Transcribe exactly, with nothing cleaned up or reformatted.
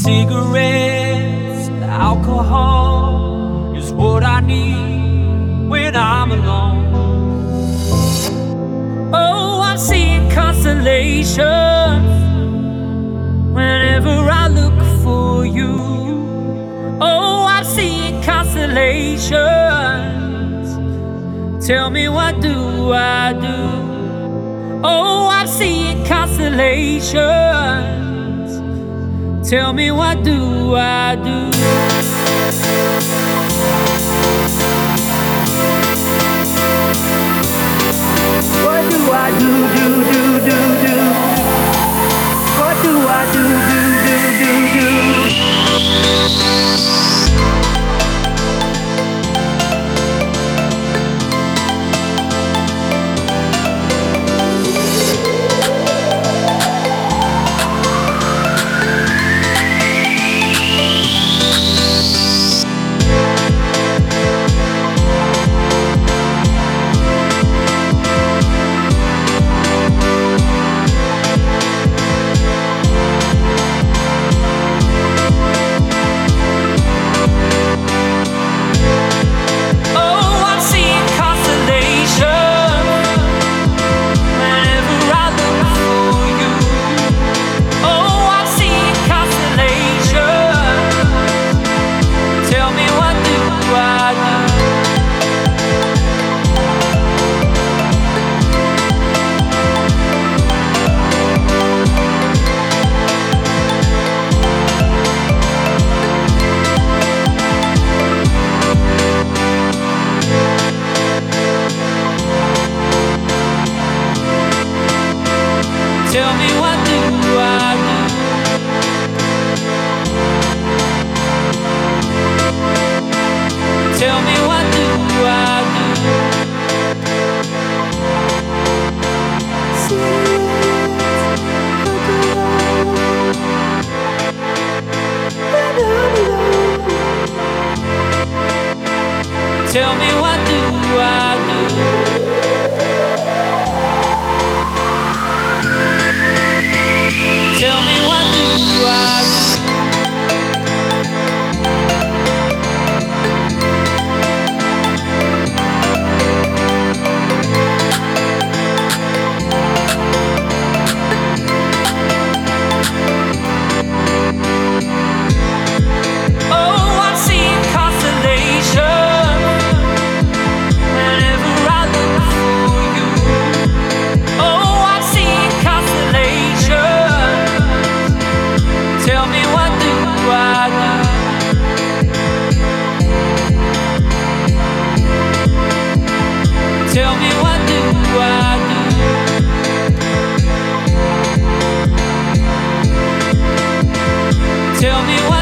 Cigarettes, alcohol is what I need when I'm alone. Oh, I'm seeing constellations whenever I look for you. Oh, I'm seeing constellations. Tell me, what do I do? Oh, I'm seeing constellations. Tell me, what do I do? What do I do, do, do, do, do? What do I do, do, do, do, do? Tell me, what do I do? Tell me, what do I do? Tell me, what do I do? Tell me, what do I do? Oh, I'm seeing constellations whenever I look for you. Oh, I'm seeing constellations. Tell me, what do I do? Tell me, what do I do? Tell me, what